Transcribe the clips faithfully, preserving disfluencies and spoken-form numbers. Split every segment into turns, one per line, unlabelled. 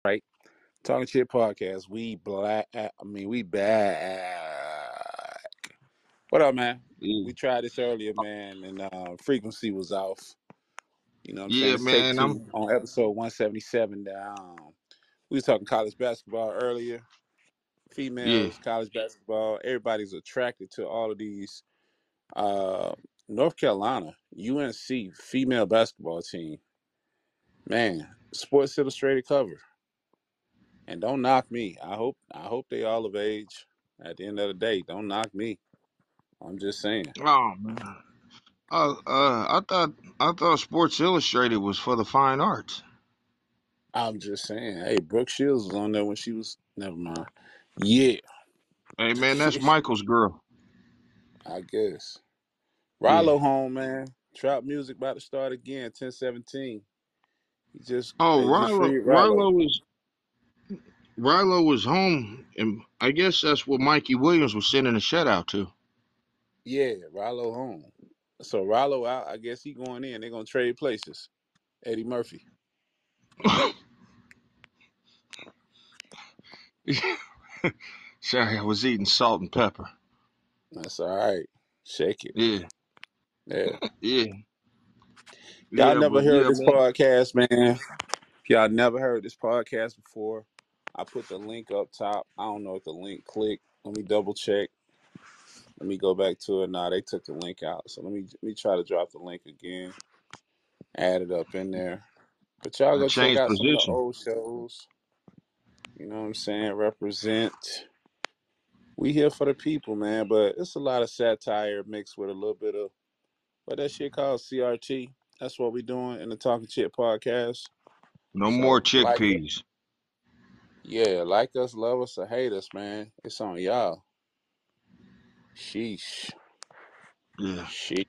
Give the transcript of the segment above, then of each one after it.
right? Talking Shit Podcast. We black. I mean, we back. What up, man?
Yeah,
We tried this earlier, man, and uh, frequency was off. You know what I'm saying?
yeah,
It's take
man.
two
I'm
on episode one seventy-seven. Down. We was talking college basketball earlier.
yeah.
Females, college basketball. Everybody's attracted to all of these. Uh, North Carolina, U N C female basketball team. Man, Sports Illustrated cover. And don't knock me. I hope I hope they all of age. At the end of the day, don't knock me. I'm just saying.
Oh man. Uh, uh, I thought I thought Sports Illustrated was for the fine arts.
I'm just saying. Hey, Brooke Shields was on there when she was. Never mind. Yeah,
Hey man, that's Michael's girl.
I guess.
Yeah.
Rallo home, man. Trap music about to start again. ten seventeen. He just
Oh,
they just
Rilo,
freed Rallo.
Rilo was Rilo was home, and I guess that's what Mikey Williams was sending a shutout to.
Yeah, Rallo home. So Rallo out. I guess he going in. They're gonna trade places. Eddie Murphy.
Sorry, I was eating salt and pepper.
That's all right. Shake it.
Yeah,
Yeah.
yeah,
Y'all
yeah.
never
But
heard
yeah,
this
man.
podcast, man. If y'all never heard this podcast before, I put the link up top. I don't know if the link clicked. Let me double check. Let me go back to it. Nah, they took the link out. So let me let me try to drop the link again. Add it up in there. But y'all
I
go check
changed
out some of the
position.
old shows. You know what I'm saying? Represent. We here for the people, man. But it's a lot of satire mixed with a little bit of what that shit called C R T. That's what we doing in the Talking Shit podcast.
No more
So like
chickpeas.
Yeah, like us, love us, or hate us, man. It's on y'all. Sheesh.
Yeah.
Sheesh.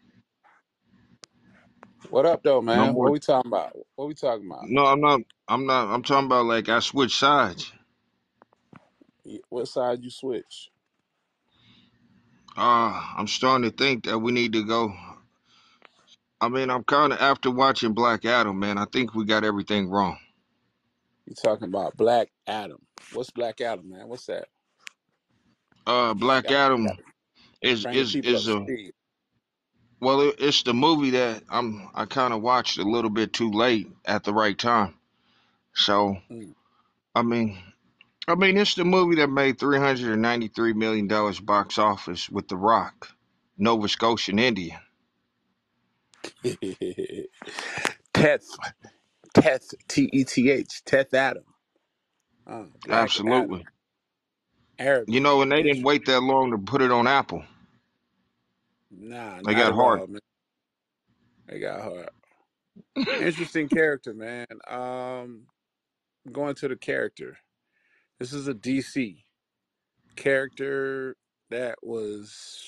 What up, though,
No
man?
more.
What we talking about? What we talking about?
No, I'm not. I'm not. I'm talking about like I switched sides.
Y- What side you switch?
Uh, I'm starting to think that we need to go. I mean, I'm kind of after watching Black Adam, man. I think we got everything wrong.
You talking about Black Adam? What's Black Adam, man? What's that?
Uh, Black
Got, got
Adam
to
is
bring the
is
people up
is
to
a
speed.
well, it, it's the movie that I'm I kind of watched a little bit too late at the right time. So
Mm.
I mean, I mean, it's the movie that made three hundred and ninety three million dollars box office with The Rock, Nova Scotian Indian.
Teth, Teth, T E T H, Teth Adam. Uh, Black Adam,
Absolutely. You
Arabic.
know, and they didn't
Interesting.
wait that long to put it on Apple.
Nah,
They
not
got
at
hard.
all, man. They got hard. Interesting character, man. Um, going to the character. This is a D C character that was,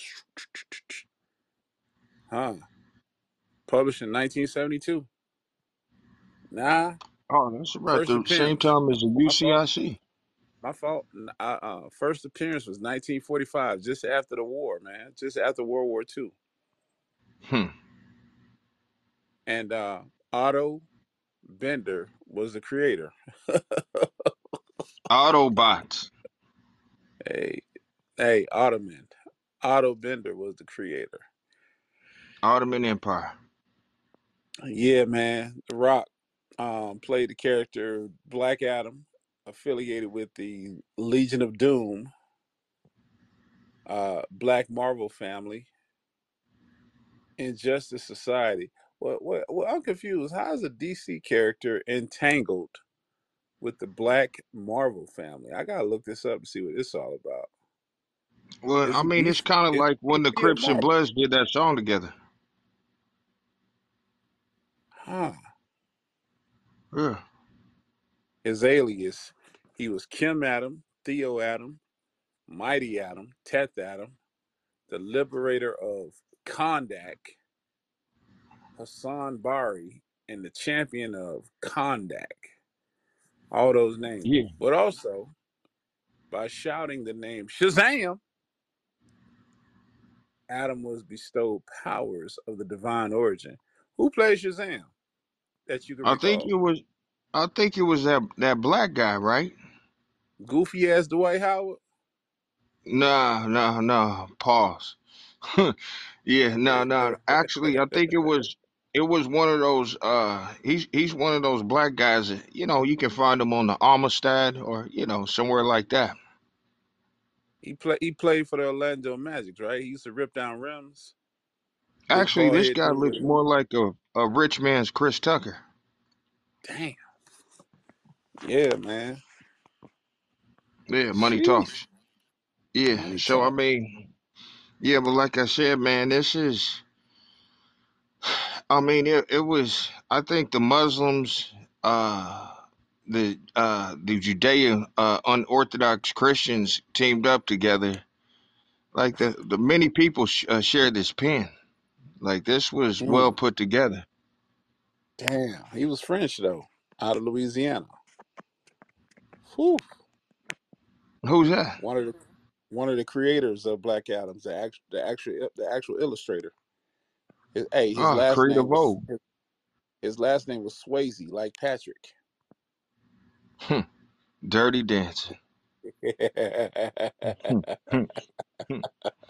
huh, published in nineteen seventy-two. Nah,
Oh, that's about
first
the same
appearance.
time as the
My fault.
U C I C.
My fault. Uh, uh, first appearance was nineteen forty-five, just after the war, man. Just after World War Two.
Hmm.
And uh, Otto Bender was the creator.
Autobots.
Hey, hey, Ottoman. Otto Bender was the creator.
Ottoman Empire.
Yeah, man. The Rock um, played the character Black Adam, affiliated with the Legion of Doom, uh, Black Marvel family, Injustice Society. What, what, what? I'm confused. How is a D C character entangled with the Black Marvel family? I gotta look this up and see what it's all about.
Well, I
Is it
mean, it's
D C?
kind of
Is
like
it
when the
D C or
Crips and
Marvel?
Bloods did that song together.
Huh?
Yeah.
His alias, he was Kim Adam, Theo Adam, Mighty Adam, Teth Adam, the liberator of Kondak, Hassan Bari, and the champion of Kondak. All those names.
Yeah.
But also, by shouting the name Shazam, Adam was bestowed powers of the divine origin. Who plays Shazam that you can
I think
recall?
it was. I think it was that that black guy, right?
Goofy ass Dwight Howard.
Nah, nah, nah. Pause. Yeah, no, no. Actually, I think it was it was one of those. Uh, he's he's one of those black guys that you know you can find him on the Amistad or you know somewhere like that.
he play he played for the Orlando Magic, right? He used to rip down rims. Big
Actually,
bald
this
head
guy
dude.
looks more like a a rich man's Chris Tucker.
Damn. Yeah, man.
Yeah, money
Sheesh.
talks. Yeah.
Money
So I
talk.
mean, yeah, but like I said, man, this is. I mean, it it was. I think the Muslims, uh, the uh the Judean uh, unorthodox Christians teamed up together. Like the the many people sh- uh, shared this pen. Like this was well
Mm.
put together.
Damn. He was French though, out of Louisiana. Whew.
Who's that?
One of the one of the creators of Black Adams, the act, the actual the actual illustrator. His, hey, his
Ah,
last
Creative
name was
Vogue.
his, his last name was Swayze, like Patrick.
Hmm, Dirty Dancing. Hmm, hmm, hmm.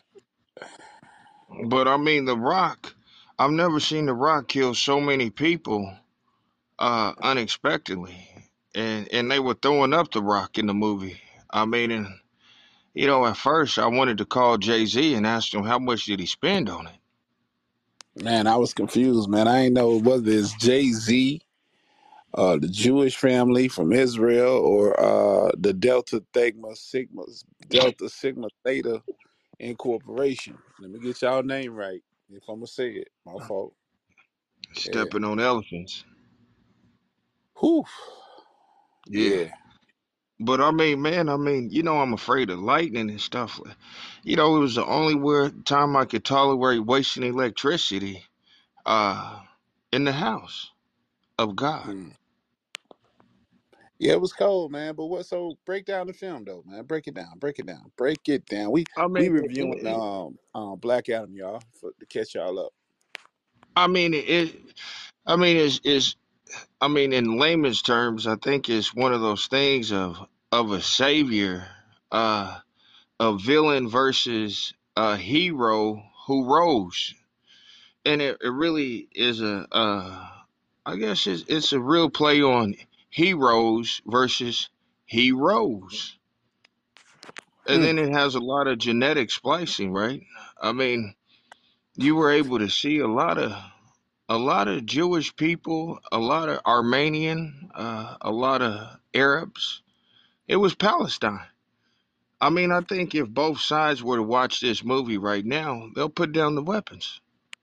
But I mean, The Rock. I've never seen The Rock kill so many people uh, unexpectedly, and and they were throwing up The Rock in the movie. I mean, and you know, at first I wanted to call Jay Z and ask him how much did he spend on it.
Man, I was confused, man. I ain't know whether it's Jay Z, uh, the Jewish family from Israel, or uh, the Delta Theta Sigma Delta Sigma Theta Incorporation. Let me get y'all name right. If I'm gonna say it, my fault. Yeah.
Stepping on elephants.
Whew.
Yeah.
Yeah.
But I mean, man, I mean, you know, I'm afraid of lightning and stuff. You know, it was the only where time I could tolerate wasting electricity uh, in the house of God.
Mm. Yeah, it was cold, man. But what? So break down the film, though, man. Break it down. Break it down. Break it down. We
I
we
mean, it,
reviewing
it,
um um Black Adam, y'all, for, to catch y'all up.
I mean, it. I mean, is is I mean, in layman's terms, I think it's one of those things of of a savior, uh, a villain versus a hero who rose, and it, it really is a. Uh, I guess it's, it's a real play on heroes versus heroes. And
Mm.
then it has a lot of genetic splicing, right? I mean, you were able to see a lot of a lot of Jewish people, a lot of Armenian, uh, a lot of Arabs. It was Palestine. I mean, I think if both sides were to watch this movie right now, they'll put down the weapons.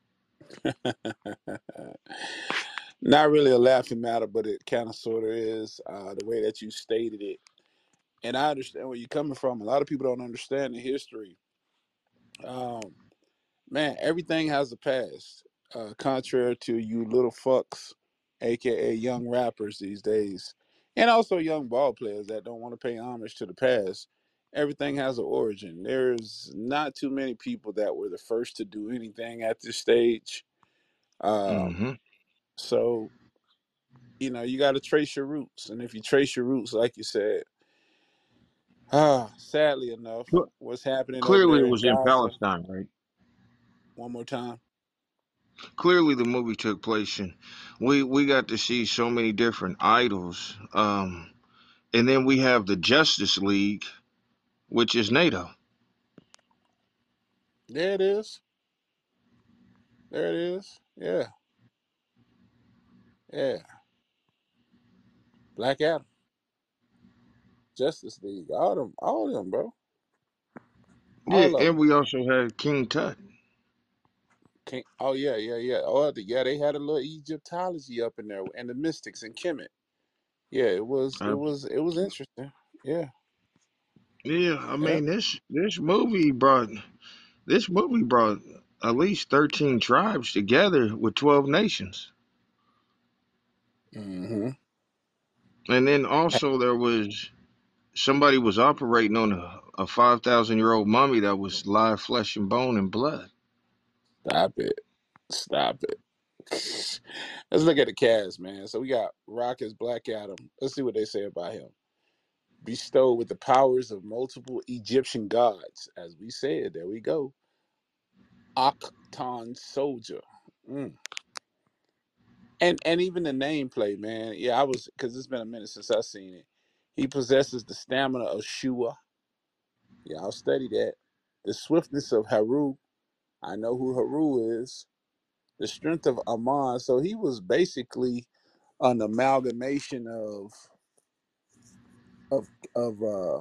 Not really a laughing matter, but it kind of sort of is uh, the way that you stated it. And I understand where you're coming from. A lot of people don't understand the history. Um, man, everything has a past. Uh, contrary to you little fucks, aka young rappers these days, and also young ball players that don't want to pay homage to the past. Everything has an origin. There's not too many people that were the first to do anything at this stage. Um,
Hmm.
so you know you got to trace your roots, and if you trace your roots, like you said, ah, sadly enough, what's happening over
Clearly,
there
it
in
was in
Gaza.
Palestine, right?
One more time.
Clearly, the movie took place in. We we got to see so many different idols, um, and then we have the Justice League, which is NATO.
There it is. There it is. Yeah, yeah. Black Adam, Justice League, all them, all them, bro,
Yeah,
all of
and
them.
we also had King Tut.
Can't, oh yeah, yeah, yeah. Oh the, yeah, they had a little Egyptology up in there, and the mystics and Kemet. Yeah, it was, it
Uh,
was, it was interesting. Yeah,
yeah, I
yeah.
mean this this movie brought this movie brought at least thirteen tribes together with twelve nations.
Mm-hmm.
And then also there was somebody was operating on a, a five thousand year old mummy that was live flesh and bone and blood.
Stop it. Stop it. Let's look at the cast, man. So we got Rock as Black Adam. Let's see what they say about him. Bestowed with the powers of multiple Egyptian gods. As we said, there we go. Akhton Soldier. Mm. And and even the nameplate, man. Yeah, I was because it's been a minute since I seen it. He possesses the stamina of Shua. Yeah, I'll study that. The swiftness of Haru. I know who Haru is. The strength of Amon. So he was basically an amalgamation of of of uh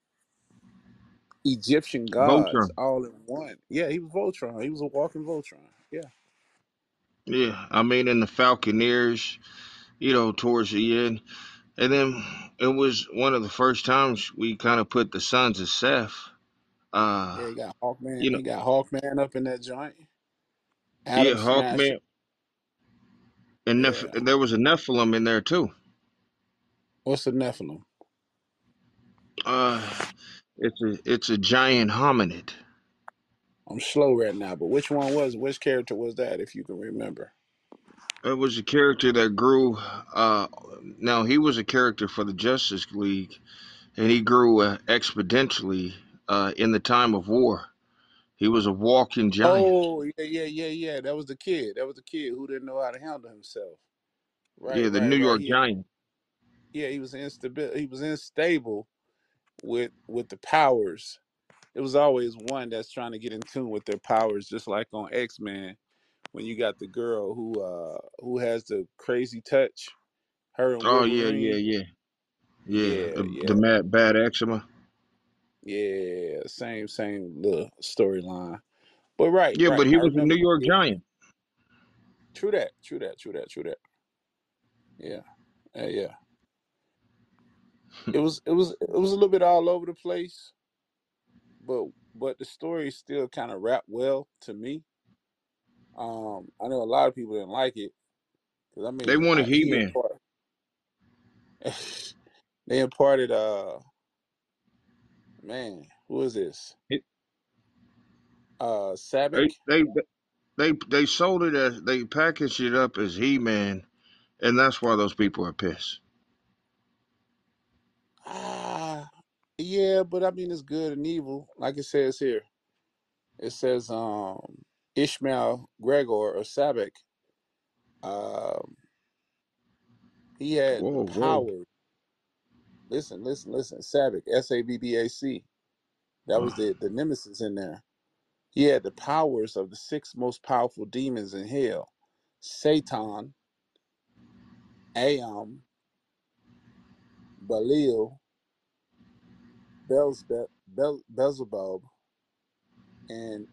Egyptian gods
Voltron.
all in one. Yeah, he was Voltron. He was a walking Voltron. Yeah.
Yeah, I mean, in the Falconeers, you know, towards the end. And then it was one of the first times we kind of put the Sons of Seth. Uh,
Yeah, he got Hawkman.
you know,
He got Hawkman up in that joint.
yeah,
Adam Smasher.
Hawkman, and, Neph-
Yeah.
and there was a Nephilim in there too.
What's the Nephilim?
Uh, it's a it's a giant hominid.
I'm slow right now, but which one was which character was that if you can remember?
It was a character that grew. Uh, now he was a character for the Justice League, and he grew uh, exponentially uh, in the time of war. He was a walking giant.
Oh, yeah, yeah, yeah, yeah. That was the kid. That was the kid who didn't know how to handle himself.
Yeah,
Right,
the
right,
New
right.
York
He had,
Giant.
yeah, he was instabil he was unstable with with the powers. It was always one that's trying to get in tune with their powers, just like on X-Men when you got the girl who uh who has the crazy touch, her and
Oh yeah, yeah,
Wolverine.
yeah, yeah.
Yeah,
The the
yeah,
mad bad eczema.
yeah. Same, same little storyline. But right,
Yeah, but
right.
he
I
was a
remember
New
the
York
kid.
Giant.
True that, true that, true that, true that. Yeah. Uh, yeah. It was it was it was a little bit all over the place, but but the story still kind of wrapped well to me. Um, I know a lot of people didn't like it because I
They
mean
wanted
I,
He
he
Man.
imparted they imparted uh man who is this uh
They
Sabic.
they they they sold it as they packaged it up as He Man, and that's why those people are pissed.
Ah, yeah, but I mean it's good and evil, like it says here. It says um Ishmael Gregor or Sabic. Um, he had the
Whoa, whoa.
power. Listen, listen, listen. Sabac, S A B B A C. That was
Uh,
the the nemesis in there. He had the powers of the six most powerful demons in hell: Satan, Aam, Belial, Beelzebub, Bel- Beelzebub, and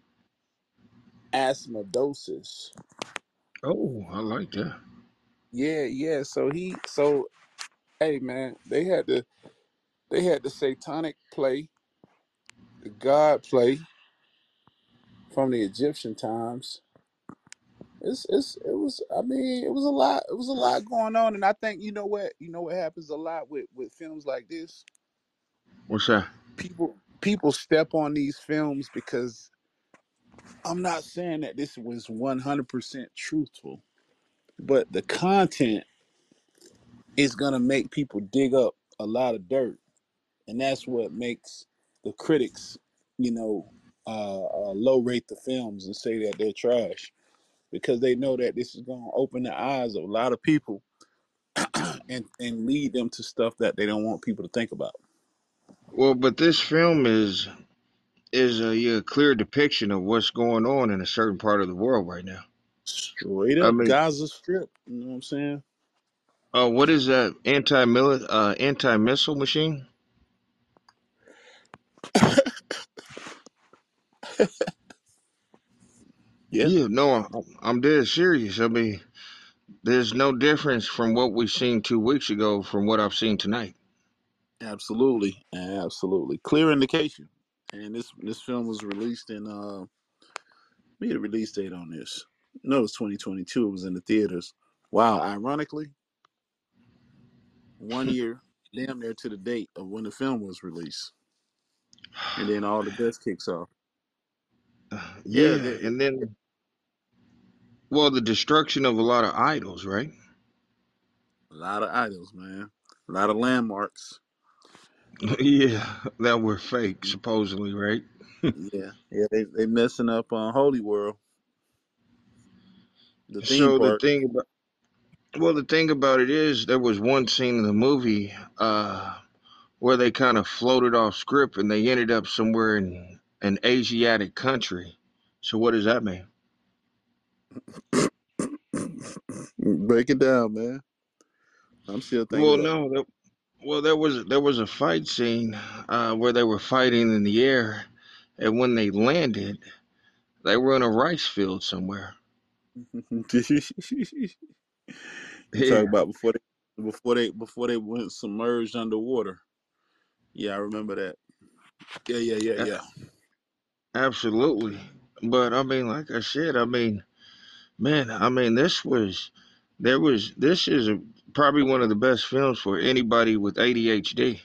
Asmodosis.
oh, I like that.
Yeah, yeah. So he, so hey, man, they had the they had the satanic play, the god play from the Egyptian times. It's it's it was I mean it was a lot it was a lot going on, and I think you know what you know what happens a lot with with films like this.
What's that?
People people step on these films because I'm not saying that this was one hundred percent truthful, but the content is gonna make people dig up a lot of dirt, and that's what makes the critics, you know, uh, uh, low rate the films and say that they're trash because they know that this is gonna open the eyes of a lot of people and and lead them to stuff that they don't want people to think about.
Well, but this film is is a, yeah, clear depiction of what's going on in a certain part of the world right now.
Straight
I
up
mean,
Gaza Strip. You know what I'm saying?
uh, what is that anti mili uh anti missile machine?
Yeah,
Yeah, no, I'm, I'm dead serious. I mean, there's no difference from what we seen two weeks ago from what I've seen tonight.
absolutely, absolutely. Clear indication. And this this film was released in uh, we had a release date on this. No, it was twenty twenty-two. It was in the theaters. Wow, ironically, one year, damn near to the date of when the film was released, and then all the dust kicks off. Yeah,
Yeah,
the,
and then well, the destruction of a lot of idols, right?
A lot of idols, man. A lot of landmarks.
Yeah, that were fake,
Mhm.
supposedly, right?
Yeah, yeah. They they messing up on Holy World, the theme
So the
park.
thing about well, the thing about it is, there was one scene in the movie uh, where they kind of floated off script and they ended up somewhere in an Asiatic country. So what does that mean?
Break it down, man. I'm still thinking
Well,
about it.
no, that, well there was there was a fight scene uh, where they were fighting in the air, and when they landed, they were in a rice field somewhere.
You talk
Yeah,
about before they before they before they went submerged underwater. Yeah, I remember that. Yeah, yeah, yeah,
a-
yeah.
absolutely. But I mean, like I said, I mean, man, I mean, this was there was this is a, probably one of the best films for anybody with A D H D.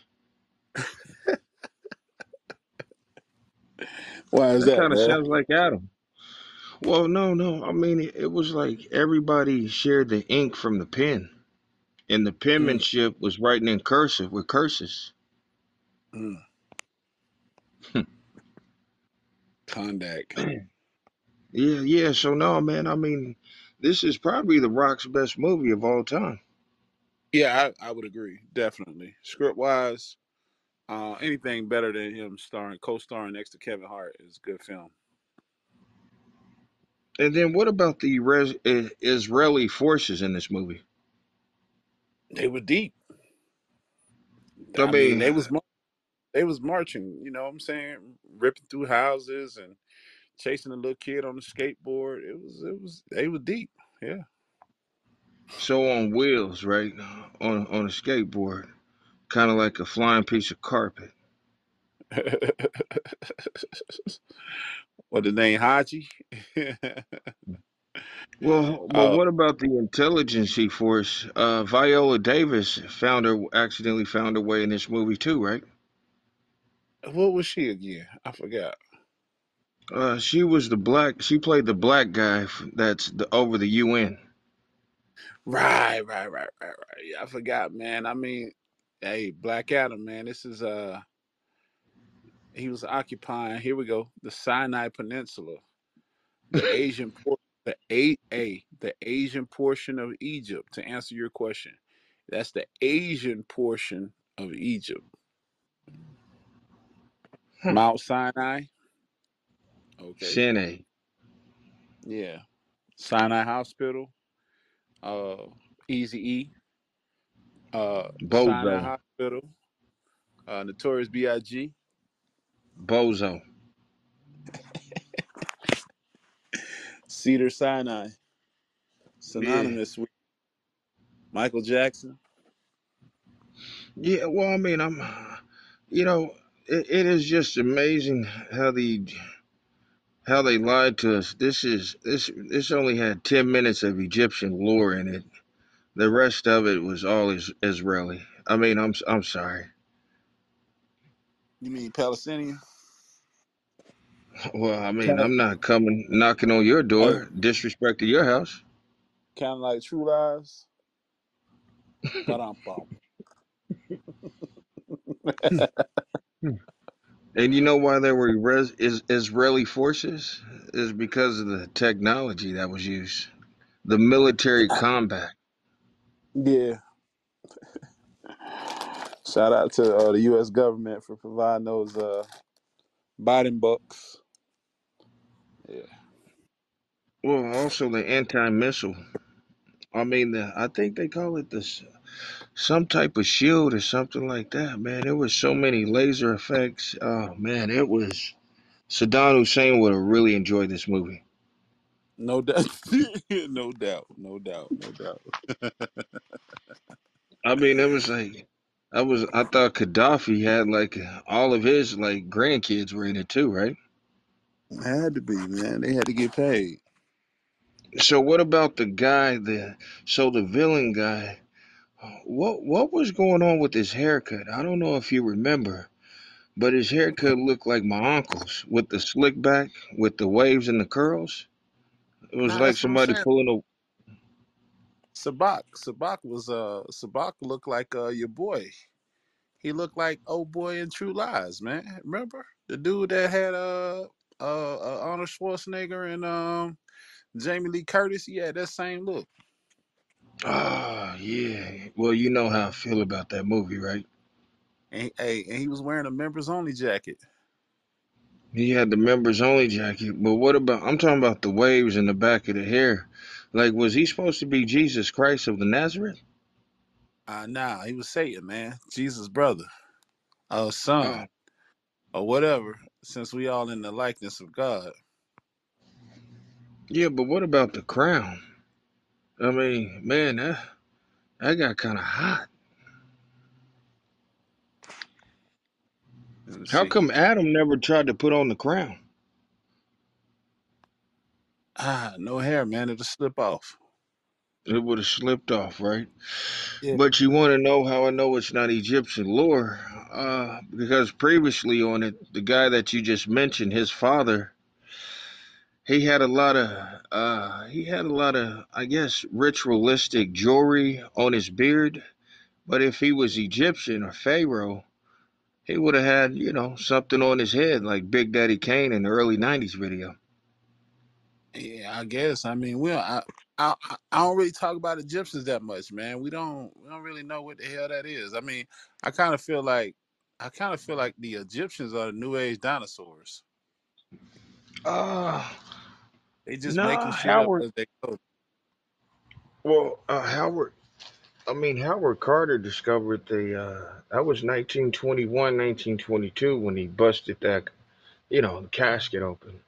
Why is
That
that,
kind of
man?
sounds like Adam. Well, no, no. I mean, it, it was like everybody shared the ink from the pen, and the
Mm,
penmanship was writing in cursive with curses.
mm. Kondak.
Yeah, yeah. So no, man. I mean, this is probably The Rock's best movie of all time.
Yeah, I, I would agree. Definitely. Script wise, uh, anything better than him starring, co-starring next to Kevin Hart is a good film.
And then what about the res- uh, Israeli forces in this movie?
They were deep.
I
I mean,
mean,
they was mar- they was marching. You know what I'm saying? Ripping through houses and chasing a little kid on the skateboard. It was it was they were deep. Yeah.
so on wheels, right? On on a skateboard, kind of like a flying piece of carpet.
What the name Haji?
Well, but
uh,
what about the intelligence force? Uh, Viola Davis found her accidentally found her way in this movie too, right?
what was she again? I forgot.
Uh, she was the black. She played the black guy f- that's the, over the U N.
Right, right, right, right, right. Yeah, I forgot, man. I mean, hey, Black Adam, man. This is uh, he was occupying. Here we go, the Sinai Peninsula, the Asian port, the a a the Asian portion of Egypt. To answer your question, that's the Asian portion of Egypt.
Huh.
Mount Sinai. Okay,
Shanae,
yeah. Sinai Hospital. Uh, Easy E. Uh,
Bozo,
Sinai Hospital. Uh, Notorious B I G.
Bozo.
Cedar Sinai.
Yeah,
Synonymous with Michael Jackson.
yeah. Well, I mean, I'm, you know, it, it is just amazing how the how they lied to us. This is this this only had ten minutes of Egyptian lore in it. The rest of it was all is, Israeli. I mean, I'm I'm sorry.
You mean Palestinian?
Well, I mean,
Kind of,
I'm not coming knocking on your
hey,
door, disrespect to your house.
kind of like True Lies. Ba-dum-bum.
And you know why there were res- is Israeli forces? Is because of the technology that was used, the military combat.
Yeah. Shout out to uh, the U S government for providing those uh, Biden bucks. Yeah.
Well, also the anti-missile. I mean, the, I think they call it this some type of shield or something like that. Man, there was so many laser effects. Oh man, it was. Saddam Hussein would have really enjoyed this movie.
No doubt. no doubt. No doubt. No doubt.
I mean, it was like I was. I thought Gaddafi had like all of his like grandkids were in it too, right?
Had to be, man. They had to get paid.
So what about the guy? The so the villain guy. What what was going on with his haircut? I don't know if you remember, but his haircut looked like my uncle's with the slick back, with the waves and the curls. It was
Nah,
like
that's what I'm
somebody
saying.
pulling
Sabak, Sabak was uh Sabak looked like uh your boy. He looked like old boy in True Lies, man. Remember the dude that had uh uh, uh Arnold Schwarzenegger and um Jamie Lee Curtis? He had that same look.
a. Ah, yeah. Well, you know how I feel about that movie, right?
And hey, and he was wearing a members only jacket.
He had the members only jacket, but what about? I'm talking about the waves in the back of the hair. Like, was he supposed to be Jesus Christ of the Nazareth?
Uh nah, he was Satan, man. Jesus' brother, uh
Oh,
son, or whatever, since we all in the likeness of God.
yeah, but what about the crown? I mean, man, that that got kind of hot.
Let me
How
see.
come Adam never tried to put on the crown?
Ah, no hair, man. It'll slip off.
It would have slipped off, right?
Yeah.
But you want to know how I know it's not Egyptian lore? Uh, because previously on it, the guy that you just mentioned, his father, he had a lot of, uh, he had a lot of, I guess, ritualistic jewelry on his beard. But if he was Egyptian or Pharaoh, he would have had, you know, something on his head like Big Daddy Kane in the early nineties video.
Yeah, I guess. I mean, we don't, I, I I don't really talk about Egyptians that much, man. We don't we don't really know what the hell that is. I mean, I kind of feel like I kind of feel like the Egyptians are the new age dinosaurs.
Uh,
They just making
nah,
shit up
Howard.
as they go.
Well, uh, Howard. I mean, Howard Carter discovered the. Uh, that was nineteen twenty-one, nineteen twenty-two when he busted that, you know, the casket open.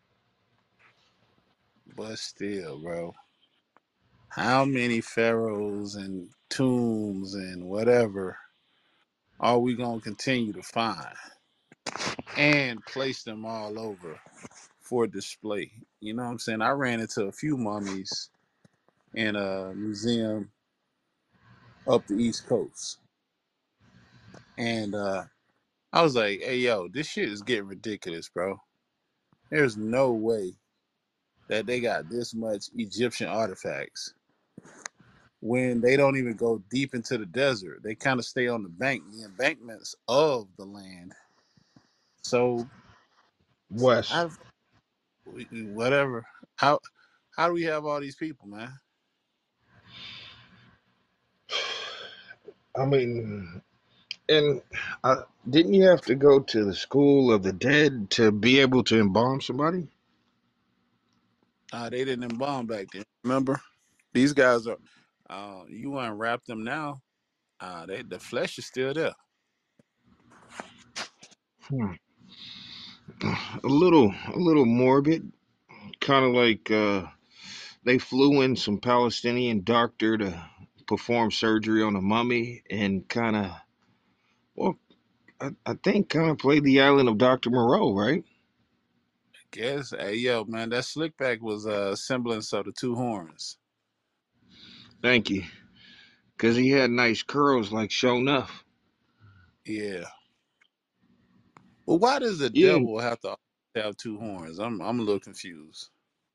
But still, bro, how many pharaohs and tombs and whatever are we gonna continue to find and place them all over for display? You know what I'm saying? I ran into a few mummies in a museum up the East Coast. And uh, I was like, hey, yo, this shit is getting ridiculous, bro. There's no way that they got this much Egyptian artifacts when they don't even go deep into the desert. They kind of stay on the bank, the embankments of the land. So,
West.
I, whatever. How how do we have all these people, man?
I mean, and uh, didn't you have to go to the school of the dead to be able to embalm somebody?
Uh, they didn't embalm back then. Remember, these guys are. Uh, you unwrap them now. Uh, they the flesh is still there.
Hmm. A little, a little morbid, kind of like uh, they flew in some Palestinian doctor to perform surgery on a mummy and kind of, well, I, I think kind of played the island of doctor Moreau, right?
Guess, hey yo, man, that slickback was a semblance of the two horns.
Thank you. Because he had nice curls like show enough.
Yeah. Well, why does the
Yeah,
devil have to have two horns? I'm I'm a little confused.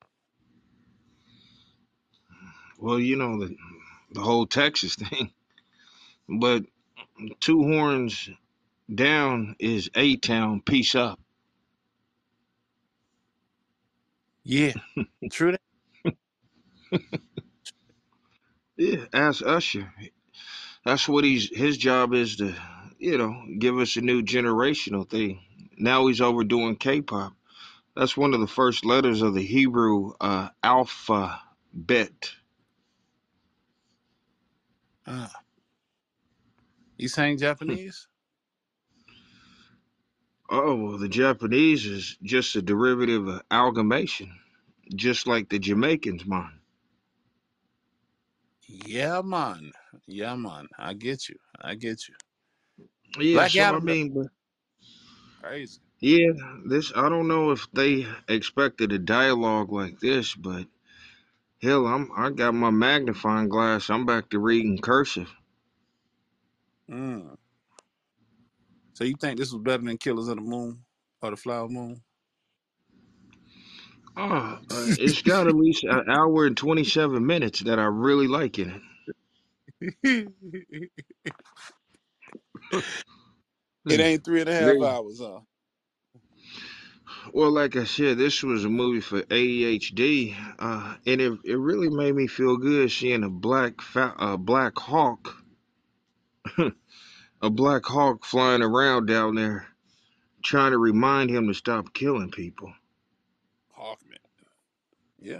well, you know, the, the whole Texas thing. But two horns down is A Town, peace up.
Yeah, true that.
Yeah, ask Usher. That's what he's, his job is to, you know, give us a new generational thing. Now he's overdoing K pop. That's one of the first letters of the Hebrew uh, alphabet.
Uh, you saying Japanese?
Oh, well, the Japanese is just a derivative of amalgamation, just like the Jamaicans, man.
Yeah, man. Yeah, man. I get you. I get you.
Yeah,
Black
so I
Adam, though,
mean, but
crazy.
yeah, this, I don't know if they expected a dialogue like this, but hell, I'm I got my magnifying glass. I'm back to reading cursive.
Mm. So you think this was better than Killers of the Moon or the Flower Moon?
Uh, uh, it's got at least an hour and twenty-seven minutes that I really like in
It
it.
ain't three and a half
They,
hours, huh?
well, like I said, this was a movie for A D H D, uh, and it it really made me feel good seeing a black fa- a black hawk, a black hawk flying around down there, trying to remind him to stop killing people.
Hawkman. Yeah.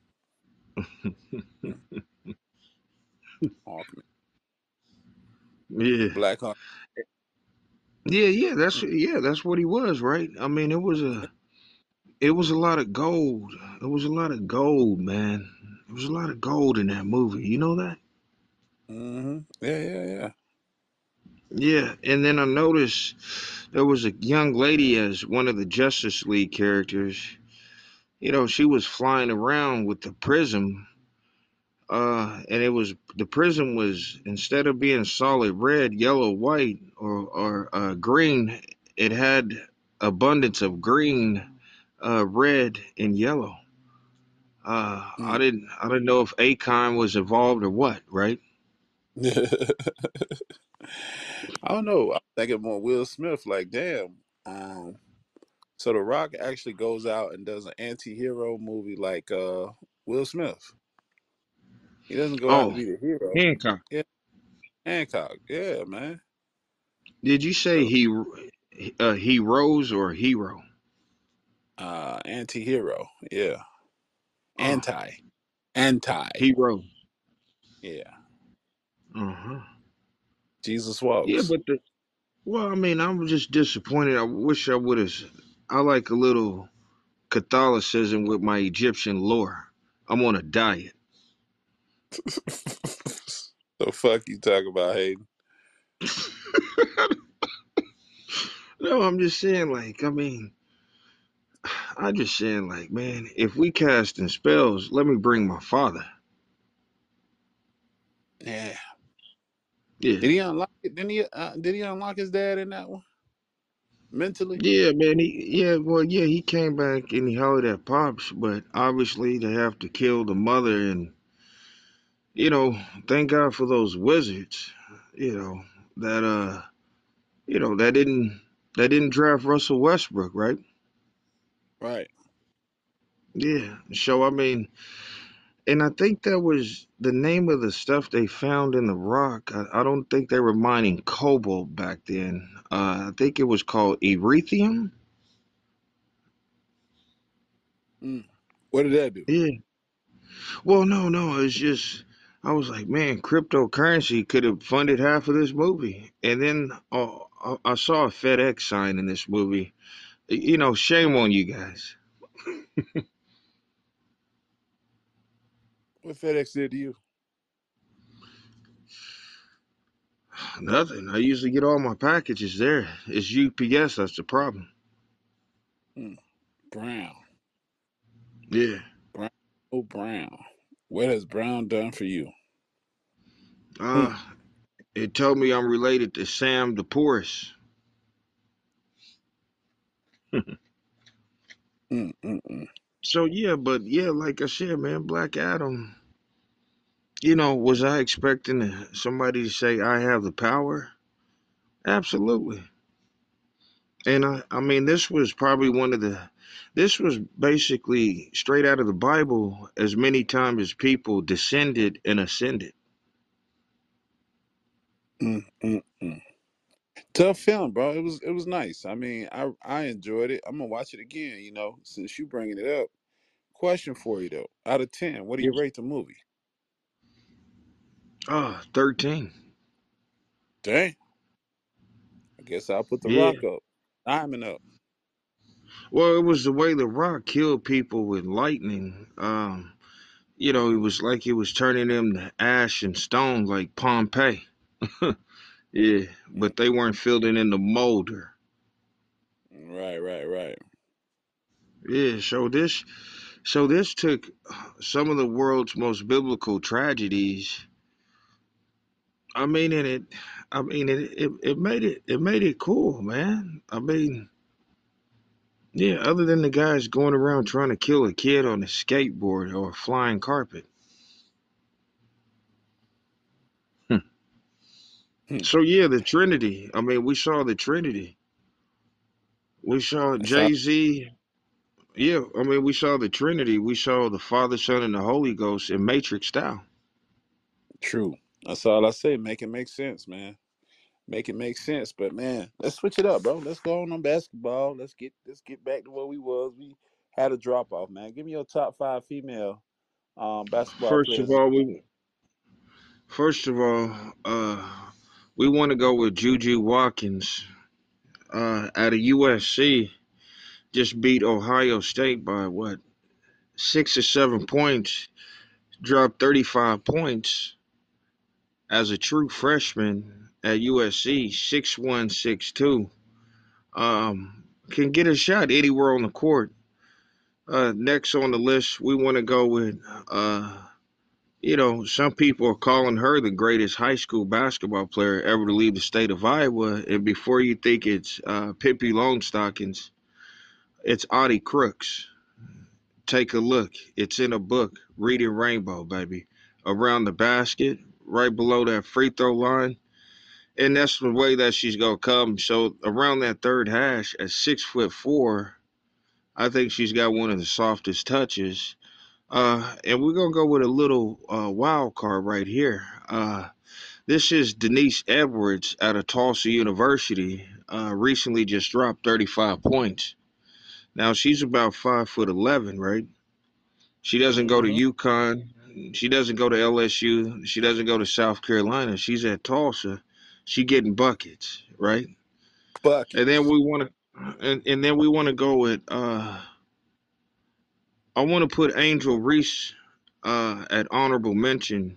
Mm, Hawkman.
Yeah,
Black Hawk.
yeah, yeah. That's
Mm,
yeah, that's what he was, right? I mean, it was a it was a lot of gold. It was a lot of gold, man. It was a lot of gold in that movie. You know that?
mm-hmm. Yeah, yeah, yeah.
Yeah, and then I noticed there was a young lady as one of the Justice League characters. You know, she was flying around with the prism, uh, and it was the prism was instead of being solid red, yellow, white, or or uh, green, it had abundance of green, uh, red, and yellow. Uh, I
Mm.
didn't I didn't know if Akon was involved or what, right?
I don't know. I'm thinking more Will Smith. Like, damn. Um, so The Rock actually goes out and does an anti-hero movie like uh Will Smith. He doesn't go out to
Oh,
be the hero.
Hancock.
Yeah, Hancock. Yeah, man.
Did you say
So
he uh, he rose or hero?
uh anti-hero. Yeah.
Oh,
Anti. Anti.
hero.
Yeah.
Uh huh.
Jesus
Yeah,
walks.
but the well, I mean, I'm just disappointed. I wish I would have. I like a little Catholicism with my Egyptian lore. I'm on a diet.
The fuck you talk about, Hayden?
No, I'm just saying, like, I mean, I'm just saying, like, man, if we casting spells, let me bring my father.
Yeah.
Yeah.
Did he unlock it? Didn't he? Uh, did he unlock his dad in that one mentally?
Yeah, man. He, yeah, well, yeah, he came back and he hollered at Pops, but obviously they have to kill the mother. And, you know, thank God for those wizards, you know, that, uh, you know, that didn't, that didn't draft Russell Westbrook, right?
Right.
Yeah. So, I mean, and I think that was the name of the stuff they found in the rock. I, I don't think they were mining cobalt back then. Uh, I think it was called erythium.
Mm. What did that do?
Yeah. Well, no, no. It's just I was like, man, cryptocurrency could have funded half of this movie. And then uh, I I saw a FedEx sign in this movie. You know, shame on you guys.
What FedEx did to you?
Nothing. I usually get all my packages there. It's U P S that's the problem.
Mm. Brown.
Yeah.
Brown. Oh, Brown. What has Brown done for you? Mm.
Uh, it told me I'm related to Sam the Porous.
Mm, mm, mm.
So yeah, but yeah, like I said, man, Black Adam. You know, was I expecting somebody to say I have the power? Absolutely. And I, I mean, this was probably one of the, this was basically straight out of the Bible. As many times as people descended and ascended.
Mm, mm, mm. Tough film, bro. It was it was nice. I mean, I I enjoyed it. I'm gonna watch it again. You know, since you bringing it up. Question for you though. Out of ten, what do you
Yes.
rate the movie?
Ah, thirteen.
Dang. I guess I'll put the
Yeah.
rock up. Diamond up.
Well, it was the way the Rock killed people with lightning. Um, you know, it was like it was turning them to ash and stone, like Pompeii. Yeah,
Mm.
but they weren't filling in the molder.
Right, right, right.
Yeah, so this so this took some of the world's most biblical tragedies. I mean, and it, I mean, it, it, it made it, it made it cool, man. I mean, Yeah, other than the guys going around trying to kill a kid on a skateboard or a flying carpet. Hmm.
Hmm.
So yeah, the Trinity. I mean, we saw the Trinity. We saw
That's all
Jay Z. Yeah, I mean, we saw the Trinity. We saw the Father, Son, and the Holy Ghost in Matrix style.
true. That's all I say. Make it make sense, man. Make it make sense. But man, let's switch it up, bro. Let's go on on basketball. Let's get let's get back to where we was. We had a drop off, man. Give me your top five female um basketball
First of
players.
all, we first of all, uh, we want to go with Juju Watkins uh, out of U S C. Just beat Ohio State by what six or seven points. Dropped thirty-five points as a true freshman at U S C. Six one, six two. Um, can get a shot anywhere on the court. Uh, next on the list, we want to go with uh, you know, some people are calling her the greatest high school basketball player ever to leave the state of Iowa. And before you think it's uh, Pippi Longstockings, it's Audie Crooks. Take a look. It's in a book, Reading Rainbow, baby. Around the basket, right below that free throw line. And that's the way that she's going to come. So around that third hash at six foot four, I think she's got one of the softest touches. Uh, and we're going to go with a little uh, wild card right here. Uh, This is Denise Edwards out of Tulsa University. Uh, recently just dropped thirty-five points. Now she's about five foot eleven, right? She doesn't go to
Mm-hmm.
UConn. She doesn't go to L S U. She doesn't go to South Carolina. She's at Tulsa. She getting buckets, right? And then
Buckets.
we want to, and, and then we want to go with. Uh, I want to put Angel Reese uh, at honorable mention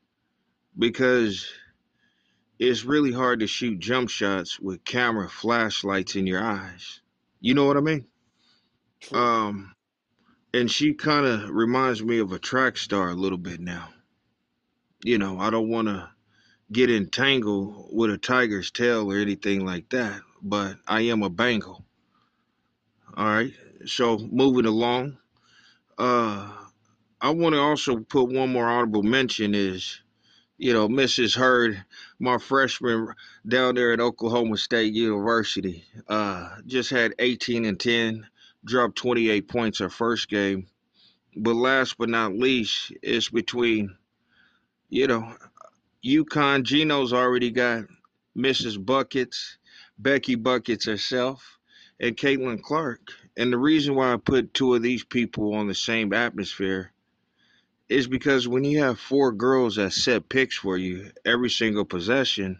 because it's really hard to shoot jump shots with camera flashlights in your eyes. You know what I mean?
True.
Um, and she kind of reminds me of a track star a little bit now. You know, I don't want to get entangled with a tiger's tail or anything like that, but I am a Bengal. All right. So moving along, uh, I want to also put one more honorable mention is you know, Missus Hurd, my freshman down there at Oklahoma State University, uh, just had eighteen and ten, dropped twenty-eight points her first game. But last but not least, it's between, you know, UConn. Gino's already got Missus Buckets, Becky Buckets herself, and Caitlin Clark. And the reason why I put two of these people on the same atmosphere is because when you have four girls that set picks for you every single possession,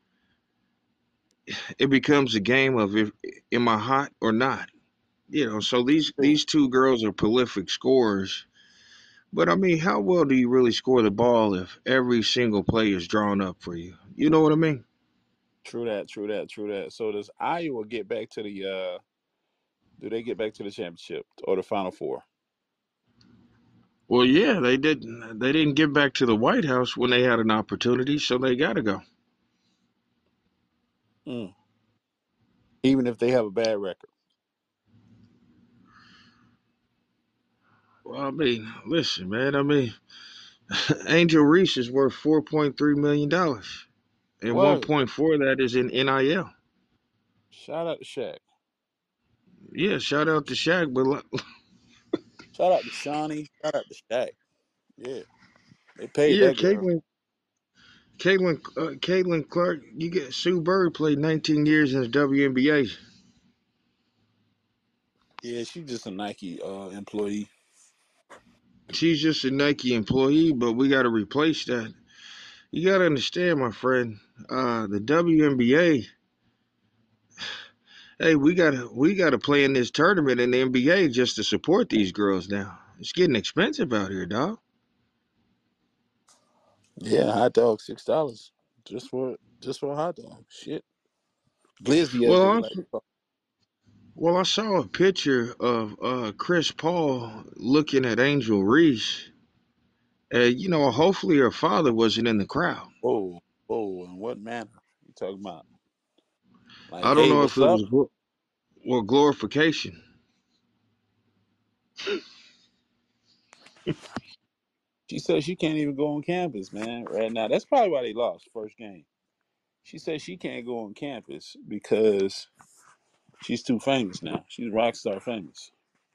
it becomes a game of if am I hot or not? You know, so these
True.
these two girls are prolific scorers. But I mean, how well do you really score the ball if every single play is drawn up for you? You know what I mean?
True that. True that. True that. So does Iowa get back to the? uh Do they get back to the championship or the Final Four?
Well, yeah, they didn't they didn't get back to the White House when they had an opportunity, so they got to go.
Mm. Even if they have a bad record.
Well, I mean, listen, man. I mean, Angel Reese is worth four point three million dollars, and one
Word.
point four of that is in N I L.
Shout out to Shaq.
Yeah, shout out to Shaq, but
Shout out to Shawnee. Shout out to Shaq. Yeah, they paid
yeah,
that girl.
Caitlin Caitlin, uh, Caitlin Clark, you get Sue Bird played nineteen years in the W N B A.
Yeah, she's just a Nike uh, employee.
She's just a Nike employee, but we got to replace that. You got to understand, my friend, uh, the W N B A. Hey, we got to we got to play in this tournament in the N B A just to support these girls now. It's getting expensive out here, dog.
Yeah, hot dog six dollars just for just for a hot dog. Shit, glizzy as
Well,
they
I,
like to call.
well, I saw a picture of uh, Chris Paul looking at Angel Reese. Uh, you know, hopefully her father wasn't in the crowd.
Whoa, whoa, in what manner you talking about? Like,
I don't
hey,
know if
what's
it
up?
was gl- well glorification.
She said she can't even go on campus, man. Right now, that's probably why they lost first game. She said she can't go on campus because she's too famous now. She's rock star famous.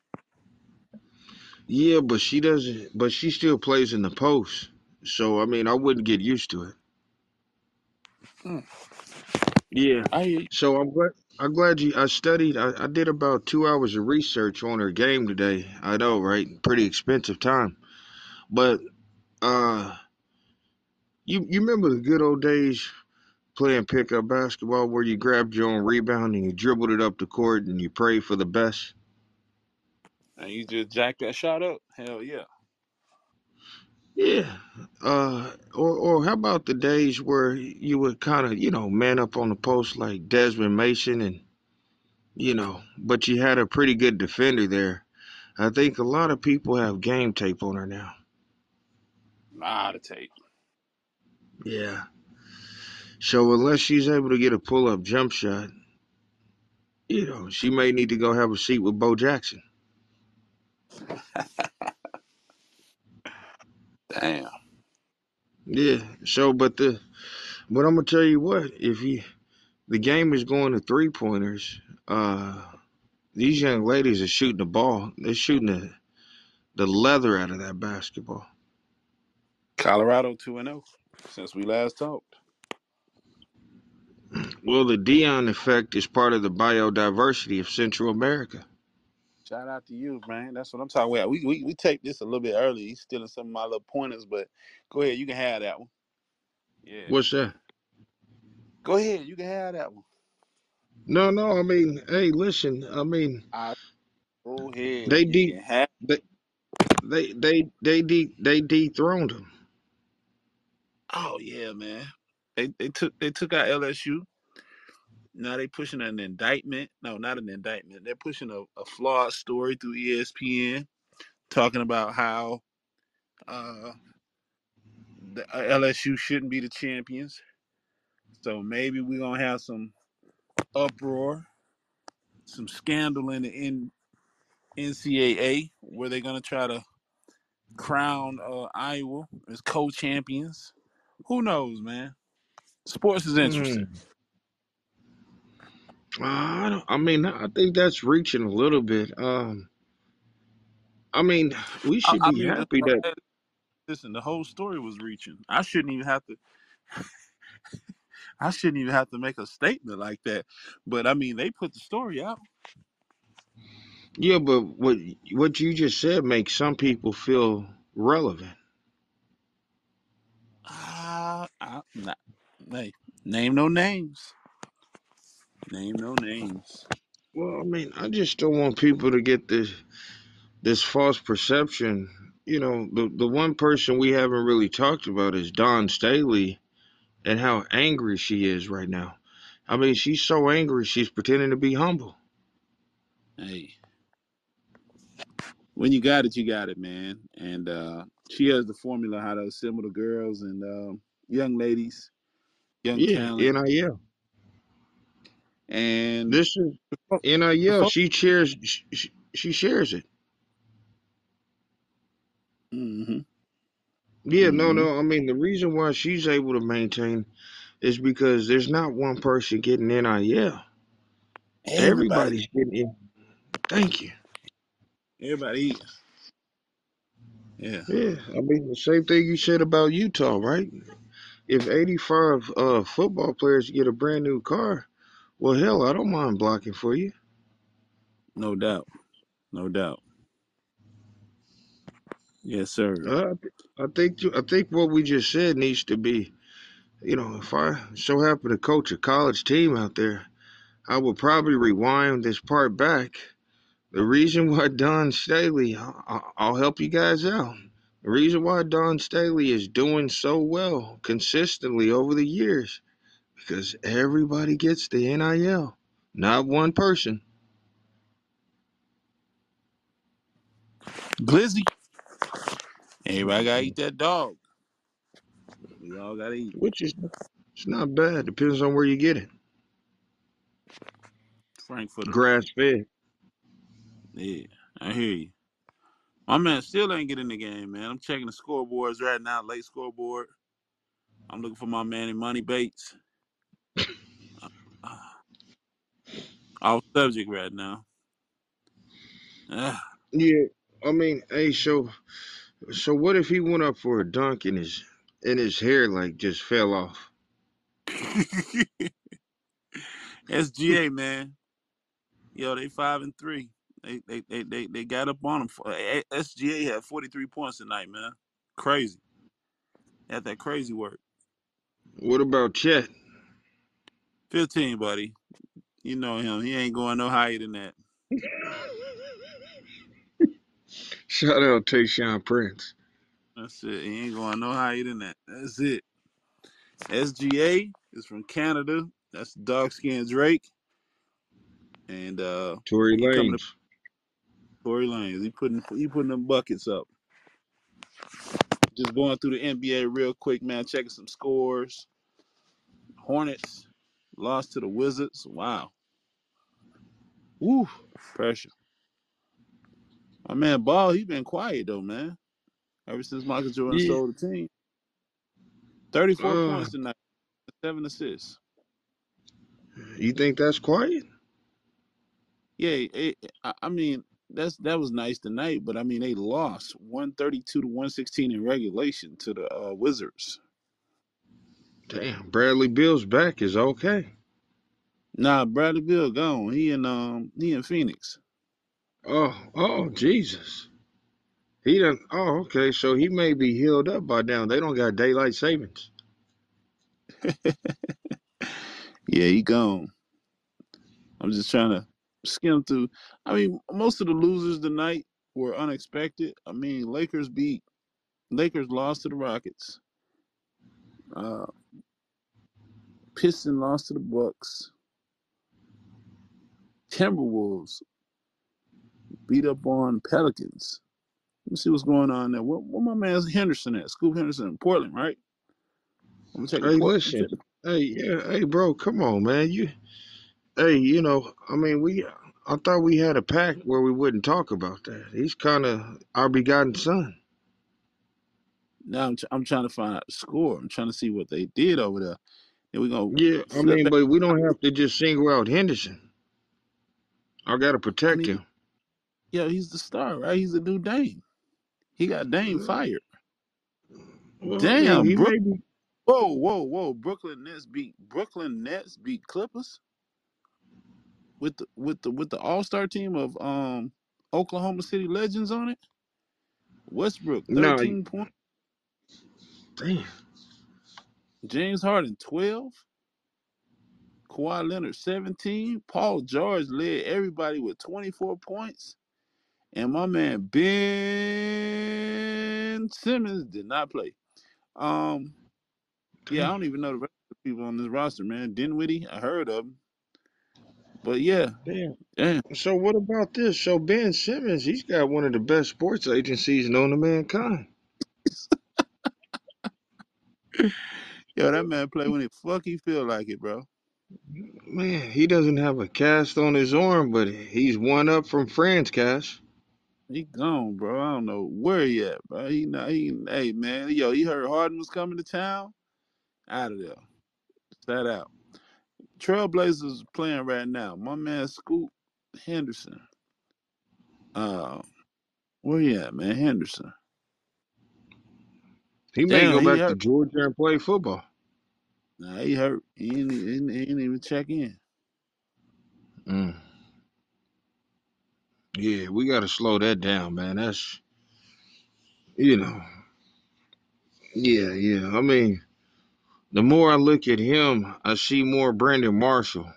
Yeah, but she doesn't. But she still plays in the post. So I mean, I wouldn't get used to it.
Mm,
Yeah.
I hear you.
So I'm glad. I'm glad you. I studied. I, I did about two hours of research on her game today. I know, right? Pretty expensive time. But uh, you you remember the good old days playing pickup basketball where you grabbed your own rebound and you dribbled it up the court and you prayed for the best?
And you just jack that shot up. Hell yeah.
Yeah. Uh, or or how about the days where you would kind of, you know, man up on the post like Desmond Mason and, you know, but you had a pretty good defender there. I think a lot of people have game tape on her now.
Nah, to take.
Yeah. So unless she's able to get a pull up jump shot, you know, she may need to go have a seat with Bo Jackson.
Damn.
Yeah. So, but the but I'm gonna tell you what, if you the game is going to three pointers, uh, these young ladies are shooting the ball. They're shooting the the leather out of that basketball.
Colorado two and zero since we last talked.
Well, the Dion effect is part of the biodiversity of Central America.
Shout out to you, man. That's what I'm talking about. We we we take this a little bit early. He's stealing some of my little pointers, but go ahead. You can have that one. Yeah.
What's that?
Go ahead. You can have that one.
No, no. I mean, hey, listen. I mean,
I go ahead.
they
You
de
can have.
they they they they de they dethroned him.
Oh yeah, man. They they took they took out L S U. Now they pushing an indictment. No, not an indictment. They're pushing a, a flawed story through E S P N, talking about how uh, the uh, L S U shouldn't be the champions. So maybe we're gonna have some uproar, some scandal in the N- NCAA where they're gonna try to crown uh, Iowa as co-champions. Who knows, man? Sports is interesting.
Hmm. I don't. I mean, I think that's reaching a little bit. Um. I mean, we
I,
should
I
be
mean,
happy that.
listen, the whole story was reaching. I shouldn't even have to. I shouldn't even have to make a statement like that. But I mean, they put the story out.
Yeah, but what what you just said makes some people feel relevant.
Ah, uh, not, hey, name no names. Name no names.
Well, I mean, I just don't want people to get this this false perception. You know, the the one person we haven't really talked about is Dawn Staley and how angry she is right now. I mean, she's so angry she's pretending to be humble.
Hey, when you got it, you got it, man. And uh, she has the formula how to assemble the girls and um, young ladies, young
Yeah,
talent,
N I L.
and
This is
the
N I L.
folks.
She shares. She, she shares it.
Mm-hmm,
Yeah, no,
mm-hmm.
no. I mean, the reason why she's able to maintain is because there's not one person getting N I L.
Everybody,
Everybody's getting it. Thank you.
everybody, yeah,
Yeah, I mean the same thing you said about Utah, right? If eighty-five uh, football players get a brand new car, well, hell, I don't mind blocking for you.
no doubt, no doubt. Yes, sir.
Uh, I think I think what we just said needs to be, you know, if I so happen to coach a college team out there, I would probably rewind this part back. The reason why Don Staley, I- I'll help you guys out. The reason why Don Staley is doing so well consistently over the years because everybody gets the N I L, not one person.
Glizzy. Everybody gotta eat that dog. We all gotta eat
Which is it's not bad. Depends on where you get it.
Frankfurter.
Grass fed.
Yeah, I hear you. My man still ain't get in the game, man. I'm checking the scoreboards right now, late scoreboard. I'm looking for my man Money Bates. Uh, off subject right now. Ah.
Yeah, I mean, hey, so so what if he went up for a dunk and his and his hair like just fell off?
S G A, man. Yo, they five and three. They they they they, they got up on them. S G A had forty-three points tonight, man. Crazy. Had that crazy work.
What about Chet?
fifteen, buddy. You know him. He ain't going no higher than that.
Shout out Tayshaun Prince.
That's it. He ain't going no higher than that. That's it. S G A is from Canada. That's dark skinned Drake. And uh
Tory
he coming to
Lanez.
Tory Lanez. He putting he putting them buckets up. Just going through the N B A real quick, man. Checking some scores. Hornets lost to the Wizards. Wow. Woo. Pressure. My man Ball, he been quiet though, man. Ever since Michael Jordan
Yeah.
sold the team. thirty-four
Uh,
points tonight, seven assists.
you think that's quiet?
Yeah, it, I I mean that's that was nice tonight, but I mean they lost one thirty-two to one sixteen in regulation to the uh, Wizards.
Damn, Bradley Bill's back is okay.
Nah, Bradley Beal gone. He in um he in Phoenix.
Oh, oh, Jesus. He done. Oh, okay. So he may be healed up by now. They don't got daylight savings.
Yeah, he gone. I'm just trying to skim through. I mean, most of the losers tonight were unexpected. I mean, Lakers beat Lakers lost to the Rockets. Uh, Piston lost to the Bucks. Timberwolves beat up on Pelicans. Let me see what's going on there. What, what my man Henderson at? Scoop Henderson in Portland, right? I'm gonna check the
Hey,
port.
listen.
Check the,
Hey, yeah. Hey, bro. Come on, man. You. Hey, you know. I mean, we. I thought we had a pact where we wouldn't talk about that. He's kind of our begotten son.
now I'm, I'm trying to find out the score. I'm trying to see what they did over there. And we're gonna
Yeah. I
flip
mean,
back.
but we don't have to just single out Henderson. I gotta
I
protect
mean,
him.
yo, he's the star, right? He's the new Dame. He got Dame fired.
Well, he,
Damn,
he
Brook.
may be.
Whoa, whoa, whoa! Brooklyn Nets beat Brooklyn Nets beat Clippers with the with the with the All Star team of um Oklahoma City Legends on it. Westbrook
Nah.
thirteen points.
Damn.
James Harden twelve. Kawhi Leonard seventeen. Paul George led everybody with twenty-four points. And my man Ben Simmons did not play. Um, yeah, I
Damn.
don't even know the rest of the people on this roster, man. Dinwiddie, I heard of him. But yeah,
Damn.
damn.
So what about this? So Ben Simmons, he's got one of the best sports agencies known to mankind.
Yo, that man play when the fuck he feel like it, bro.
Man, he doesn't have a cast on his arm, but he's one up from Franz cast.
He gone, bro. I don't know where he at, bro. He not he hey man, yo, he heard Harden was coming to town. Out of there. Sat out. Trailblazers playing right now. My man Scoot Henderson. Uh where he at, man? Henderson.
He may
Damn,
go
he
back to
hurt.
Georgia and play football.
Nah, he hurt. He ain't, he ain't, he ain't even check in.
Mm. Yeah, we got to slow that down, man. That's, you know, yeah, yeah. I mean, the more I look at him, I see more Brandon Marshall.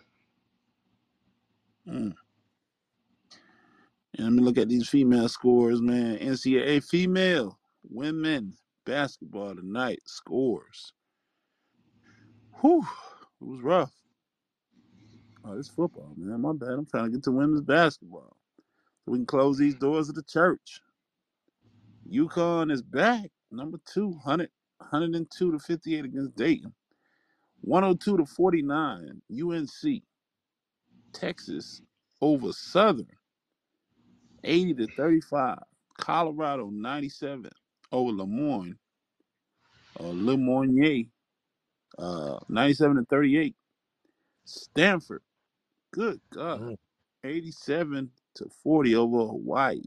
Mm. And let me look at these female scores, man. N C double A female women basketball tonight scores. Whew, it was rough. Oh, it's football, man. My bad. I'm trying to get to women's basketball so we can close these doors of the church. UConn is back, number two, one hundred, one oh two to fifty-eight against Dayton. one oh two to forty-nine, U N C. Texas over Southern, eighty to thirty-five. Colorado ninety-seven over Lemoyne or Lemoyne, uh, ninety-seven to thirty-eight. Stanford, good God,
Mm.
eighty-seven to forty over Hawaii.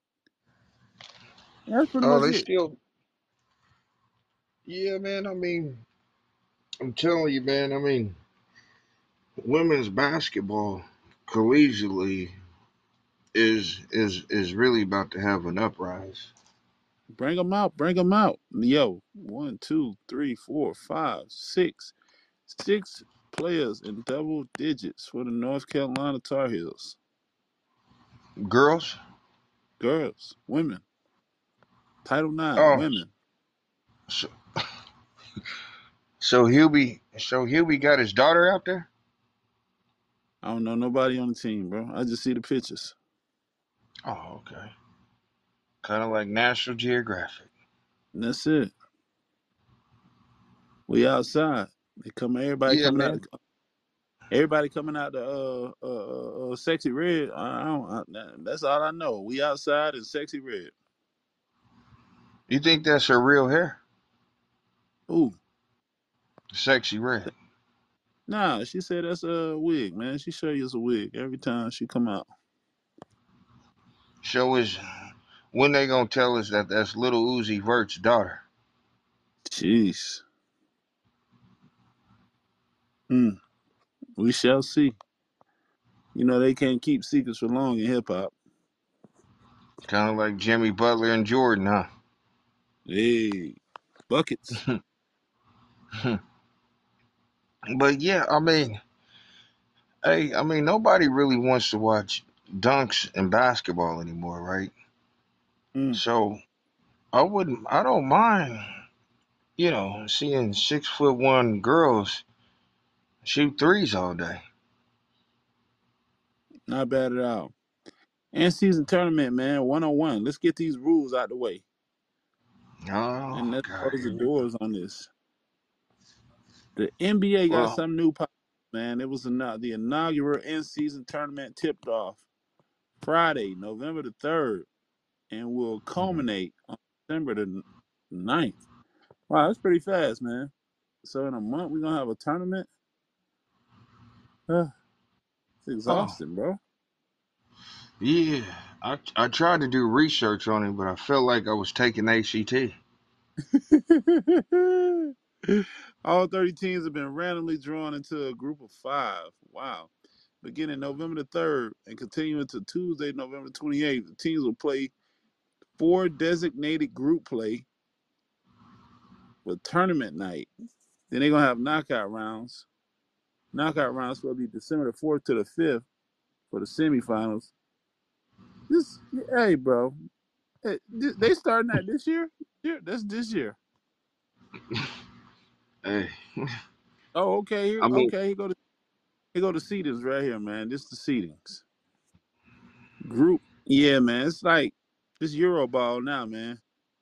That's pretty
Oh,
much
they
it.
still. Yeah, man. I mean, I'm telling you, man. I mean, women's basketball collegiately is is is really about to have an uprise.
Bring them out, bring them out. Yo, one, two, three, four, five, six, six players in double digits for the North Carolina Tar Heels.
Girls.
Girls, women, Title Nine,
Oh,
women.
so, so Hubie, so Hubie got his daughter out there.
I don't know nobody on the team, bro. I just see the pictures.
Oh, okay. Kind of like National Geographic.
And that's it. We outside. They come. Everybody
Yeah,
coming out.
man.
The, everybody coming out the uh, uh, uh, uh, sexy red. I, I don't. I, that's all I know. We outside and sexy red.
You think that's her real hair?
Ooh,
Sexy red.
nah. She said that's a wig, man. She show you it's a wig every time she come out.
Show us when they gonna tell us that that's little Uzi Vert's daughter.
Jeez. Hmm. We shall see. You know they can't keep secrets for long in hip hop.
Kind of like Jimmy Butler and Jordan, huh?
Hey, buckets.
But yeah, I mean, hey, I mean, nobody really wants to watch dunks and basketball anymore, right?
Hmm.
So I wouldn't, I don't mind, you know, seeing six foot one girls shoot threes all day.
Not bad at all. And season tournament, man. One on one. Let's get these rules out the way.
Oh
And let's
God,
close the
here we go.
doors on this. The N B A got
Well,
some new pop, man. It was the the inaugural in-season tournament tipped off Friday, November the third, and will culminate on December the ninth. Wow, that's pretty fast, man. So in a month, we're going to have a tournament? Uh, it's
oh
exhausting, bro.
yeah, I I tried to do research on it, but I felt like I was taking A C T.
All thirty teams have been randomly drawn into a group of five. Wow. Beginning November the third and continuing to Tuesday, November twenty-eighth, the teams will play four designated group play with tournament night. Then they're going to have knockout rounds. Knockout rounds will be December the fourth to the fifth for the semifinals. This, hey, bro, hey, they starting that this year? Yeah, that's this year.
Hey,
Oh, okay. Here,
I mean,
okay. Here go to here go the seedings right here, man. This the seedings group. Yeah, man. It's like this Euro ball now, man.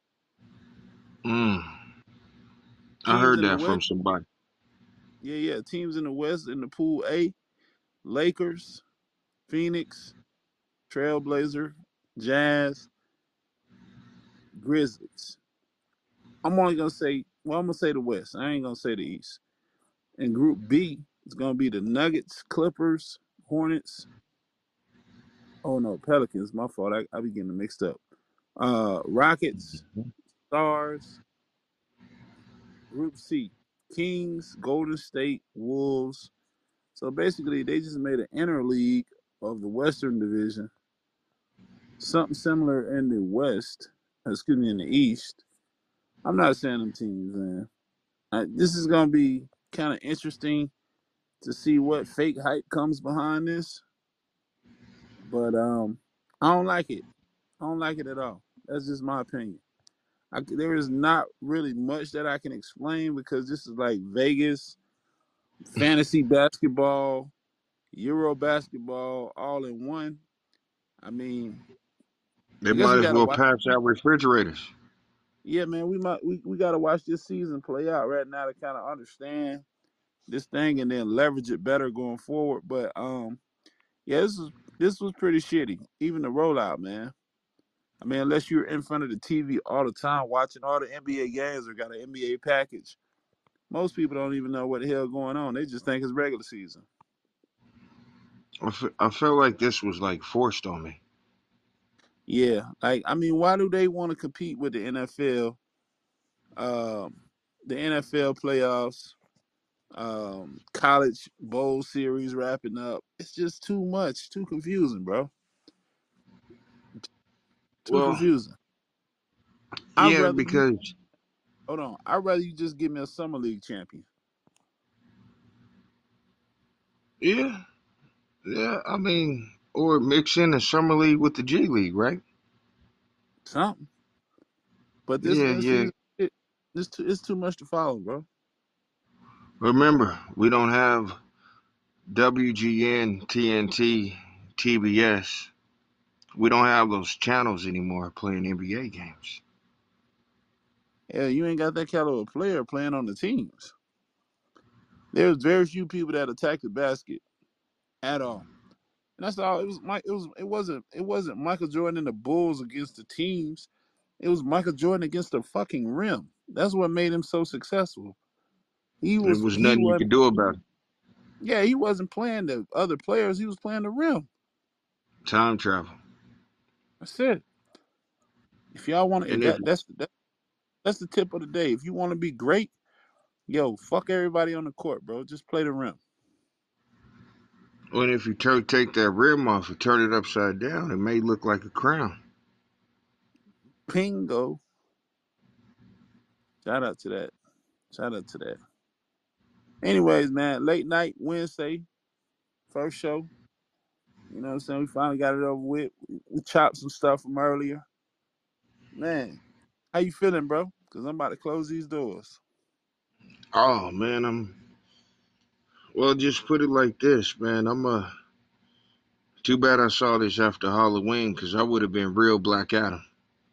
mm, I
Teams
heard
in the
that from
West.
somebody.
Yeah, yeah. Teams in the West in the pool A: Lakers, Phoenix, Trailblazer, Jazz, Grizzlies. I'm only gonna say, well, I'm gonna say the West. I ain't gonna say the East. And Group B is gonna be the Nuggets, Clippers, Hornets. Oh no, Pelicans. My fault. I, I be getting them mixed up. Uh, Rockets, Stars. Group C: Kings, Golden State, Wolves. So basically, they just made an inner league of the Western Division. Something similar in the West. Excuse me, in the East. I'm not saying them teams, man. Uh, this is gonna be kind of interesting to see what fake hype comes behind this. But um, I don't like it. I don't like it at all. That's just my opinion. I, there is not really much that I can explain because this is like Vegas fantasy basketball, Euro basketball, all in one. I mean,
They
I guess
might
we
as
gotta
well
watch.
pass out refrigerators.
Yeah, man, we might we, we gotta watch this season play out right now to kind of understand this thing and then leverage it better going forward. But um, yeah, this was this was pretty shitty. Even the rollout, man. I mean, unless you're in front of the T V all the time watching all the N B A games or got an N B A package, most people don't even know what the hell going on. They just think it's regular season.
I, f- I felt like this was like forced on me.
Yeah, like I mean, why do they want to compete with the N F L? Um, the N F L playoffs, um, college bowl series wrapping up. It's just too much, too confusing, bro. Too
Well,
confusing. I'd
yeah,
rather you
because
hold on. I'd rather you just give me a summer league champion.
yeah, yeah. I mean, or mix in the summer league with the G League, right?
Something. But this
Yeah,
in
yeah.
season, it, it's too it's too much to follow, bro.
Remember, we don't have W G N, T N T, T B S. We don't have those channels anymore playing N B A games.
Yeah, you ain't got that caliber of player playing on the teams. There's very few people that attack the basket at all. And that's all. It was Mike. It was. It wasn't. It wasn't Michael Jordan and the Bulls against the teams. It was Michael Jordan against the fucking rim. That's what made him so successful. He
There
was.
was
He
nothing you
was.
could do about it.
Yeah, he wasn't playing the other players. He was playing the rim.
Time travel.
That's it. If y'all want to,
And if
that that's that, that's the tip of the day. If you want to be great, yo, fuck everybody on the court, bro. Just play the rim.
and if you tur take that rim off and turn it upside down, it may look like a crown.
Pingo. Shout out to that. Shout out to that. Anyways, man, late night Wednesday, first show. You know what I'm saying? We finally got it over with. We chopped some stuff from earlier. Man, how you feeling, bro? Because I'm about to close these doors.
Oh man, I'm well. Just put it like this, man. I'm uh Too bad I saw this after Halloween, cause I would have been real Black Adam.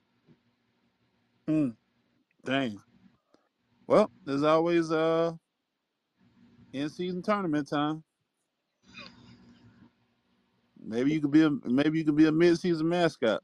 Mm, dang. Well, there's always uh in season tournament time. Maybe you could be a maybe you could be a mid season mascot.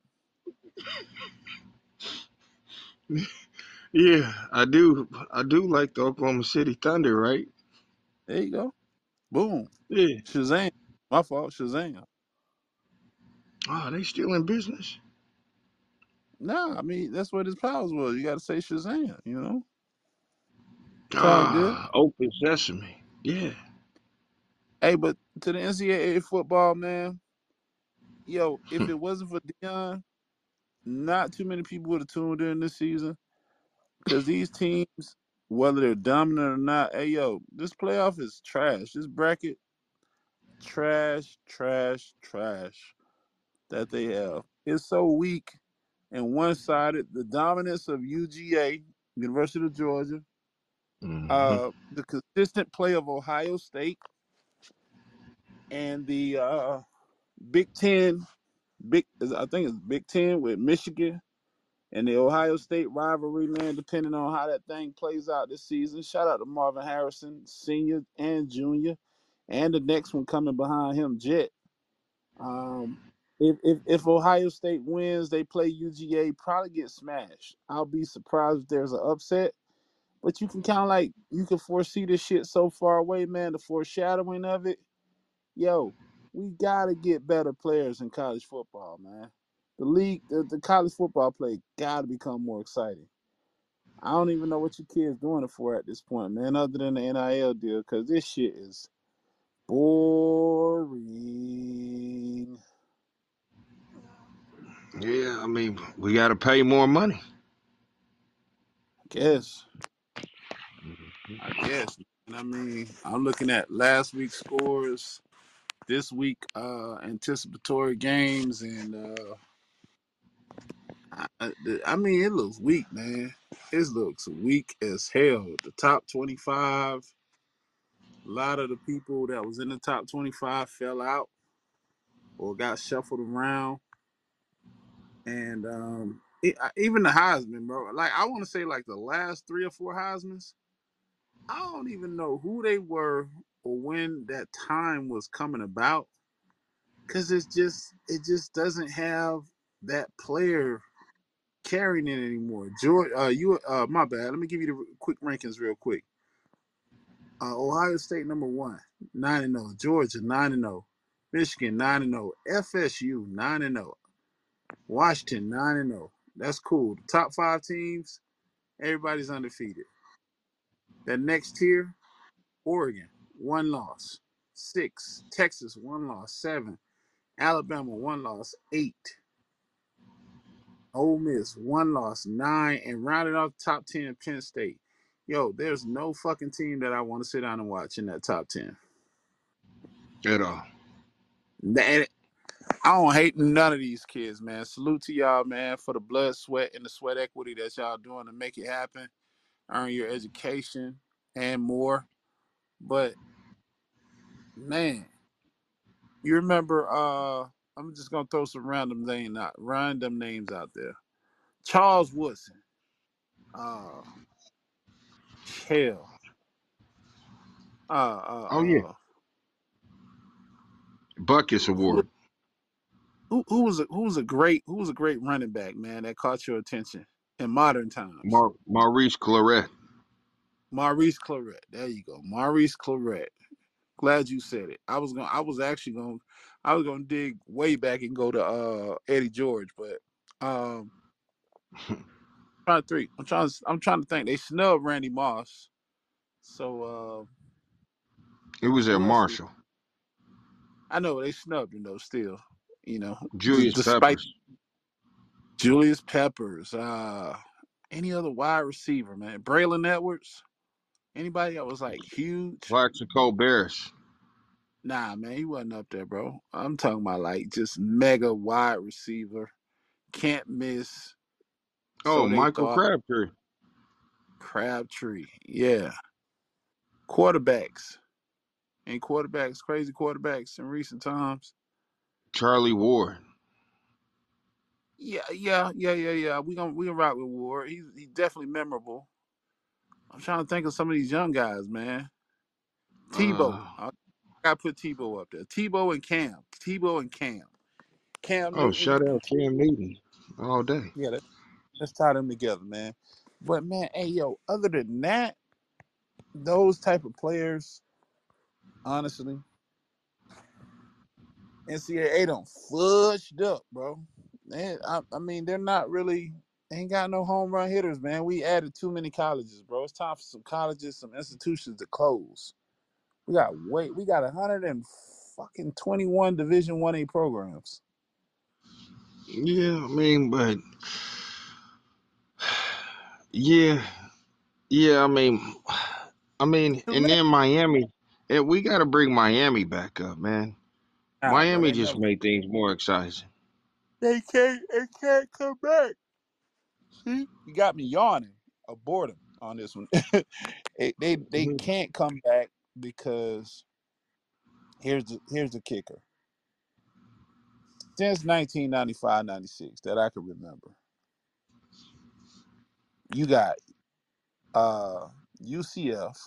Yeah, I do. I do like the Oklahoma City Thunder, right?
There you go. Boom.
Yeah.
Shazam. My fault. Shazam.
Oh, they still in business?
Nah, I mean that's what his powers was. You got to say Shazam. You know, it's all good.
Ah, Open Sesame. Yeah.
Hey, but to the N C double A football, man. Yo, if it wasn't for Dion, not too many people would have tuned in this season because these teams, whether they're dominant or not, hey yo, this playoff is trash. This bracket, trash, trash, trash that they have. It's so weak and one-sided. The dominance of U G A, University of Georgia,
hmm
uh, the consistent play of Ohio State, and the uh, Big Ten, big I think it's Big Ten with Michigan and the Ohio State rivalry, man, depending on how that thing plays out this season. Shout out to Marvin Harrison, senior and junior, and the next one coming behind him, Jet. Um, if, if if Ohio State wins, they play U G A, probably get smashed. I'll be surprised if there's an upset. But you can kind of like you can foresee this shit so far away, man. The foreshadowing of it, yo, we gotta get better players in college football, man. The league, the, the college football play gotta become more exciting. I don't even know what your kids doing it for at this point, man, other than the N I L deal, because this shit is boring.
Yeah, I mean, we got to pay more money.
I guess. I guess. And I mean, I'm looking at last week's scores, this week uh anticipatory games, and uh I, I mean, it looks weak, man. It looks weak as hell. The top twenty-five, a lot of the people that was in the top twenty-five fell out or got shuffled around. And um, it, even the Heisman, bro. Like, I want to say, like, the last three or four Heismans, I don't even know who they were or when that time was coming about. Because it's just, it just doesn't have that player. carrying it anymore. George, uh, you, uh, my bad. Let me give you the quick rankings real quick. Uh, Ohio State number one, nine and zero. Georgia nine and zero. Michigan nine and zero. F S U nine and zero. Washington nine and zero. That's cool. The top five teams, everybody's undefeated. That next tier, Oregon one loss, six. Texas one loss, seven. Alabama one loss, eight. Ole Miss one loss, nine, and rounded off top ten, Penn State. Yo, there's no fucking team that I want to sit down and watch in that top ten.
At all.
And I don't hate none of these kids, man. Salute to y'all, man, for the blood, sweat, and the sweat equity that y'all doing to make it happen, earn your education, and more. But man, you remember? Uh, I'm just gonna throw some random name out, random names out there. Charles Woodson, uh, Hell, uh,
Oh yeah.
uh, uh,
Buckets
who,
Award.
who, who was a, who was a great who was a great running back, man, that caught your attention in modern times?
Mar- Maurice Claret.
Maurice Claret. There you go, Maurice Claret. Glad you said it. I was going. I was actually going. I was going to dig way back and go to uh, Eddie George, but um, trying to think. I'm trying. To, I'm trying to think. They snubbed Randy Moss. So uh,
It was at
who else? Did,
Marshall.
I know they snubbed him though. Still, you know, d-
Julius
despite
Peppers.
Julius Peppers, uh, any other wide receiver, man, Braylon Edwards, anybody that was like huge.
Plaxico Bears.
Nah, man, he wasn't up there, bro. I'm talking about like just mega wide receiver, can't miss.
Oh,
So they
Michael
thought.
Crabtree.
Crabtree, yeah. Quarterbacks and quarterbacks, crazy quarterbacks in recent times.
Charlie Ward.
Yeah, yeah, yeah, yeah, yeah. We gonna we gonna rock with Ward. He's he's definitely memorable. I'm trying to think of some of these young guys, man. Tebow,
Uh,
I gotta put Tebow up there. Tebow and Cam. Tebow and Cam. Cam
oh,
Newton
shout out
and
Cam Newton all day.
yeah, let, let's tie them together, man. But man, hey yo, other than that, those type of players, honestly, N C double A don't fudged up, bro. They, I, I mean, they're not really ain't got no home run hitters, man. We added too many colleges, bro. It's time for some colleges, some institutions to close. We got wait, we got a hundred and fucking twenty one Division One A programs.
Yeah, I mean, but yeah, yeah. I mean, I mean, and then Miami. And we got to bring Miami back up, man.
Nah, bro,
Miami
they
just
never.
made things more exciting.
They can't. They can't come back. See, you got me yawning of boredom on this one. they, they they
Mhm.
can't come back because here's the here's the kicker. Since nineteen ninety-five ninety-six that I can remember, you got uh, U C F,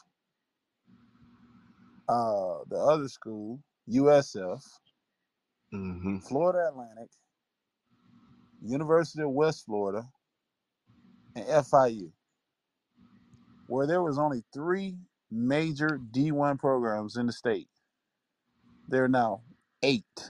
uh, the other school, U S F,
Mhm.
Florida Atlantic, University of West Florida, and F I U, where there was only three major D one programs in the state. There are now eight.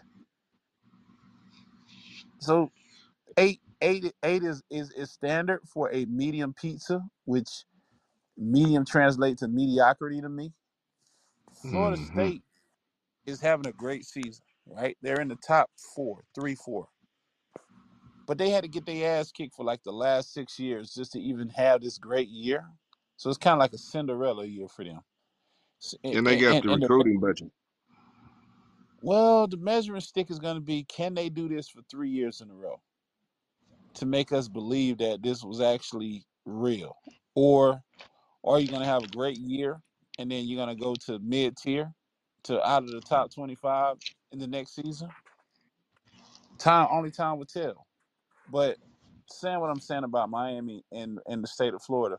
So eight, eight, eight is, is, is standard for a medium pizza, which medium translates to mediocrity to me. Florida
Mhm.
State is having a great season, right? They're in the top four, three, four. But they had to get their ass kicked for like the last six years just to even have this great year. So it's kind of like a Cinderella year for them. And,
And they got
and,
the
and the,
recruiting budget.
well, the measuring stick is going to be, can they do this for three years in a row to make us believe that this was actually real? Or are you going to have a great year and then you're going to go to mid tier to out of the top twenty-five in the next season? Time, only time will tell. But saying what I'm saying about Miami and, and the state of Florida,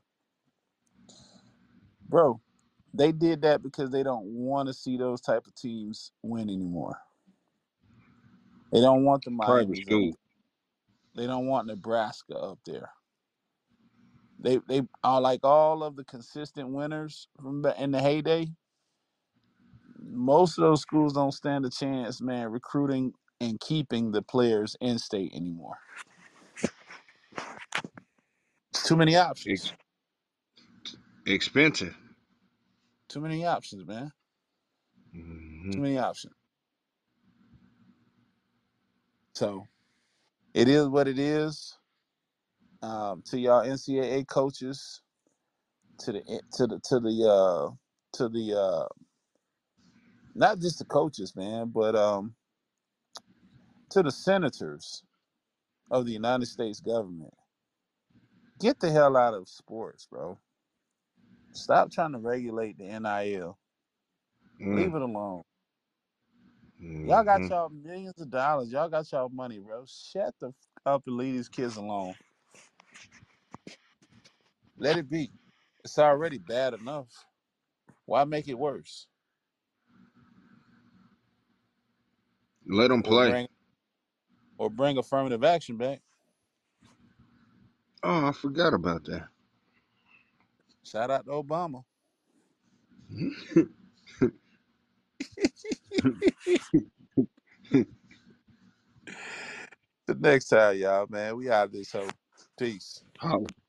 bro, they did that because they don't want to see those type of teams win anymore. They don't want the
Private
Miamis of the
school.
They don't want Nebraska up there. They they are like all of the consistent winners from the, in the heyday. Most of those schools don't stand a chance, man, recruiting and keeping the players in state anymore. It's too many options.
Ex- expensive.
Too many options, man.
Hmm.
Too many options. So it is what it is. Um, to y'all N C double A coaches, to the to the to the uh, to the uh, not just the coaches, man, but um, to the senators of the United States government. Get the hell out of sports, bro. Stop trying to regulate the N I L. Leave it alone. Y'all got
Mm-hmm.
y'all millions of dollars. Y'all got y'all money, bro. Shut the f- up and leave these kids alone. Let it be. It's already bad enough. Why make it worse?
Let them
Or
play.
bring or bring affirmative action back.
Oh, I forgot about that.
Shout out to Obama. The next time, y'all, man. We out of this hoe. Peace.
Holla.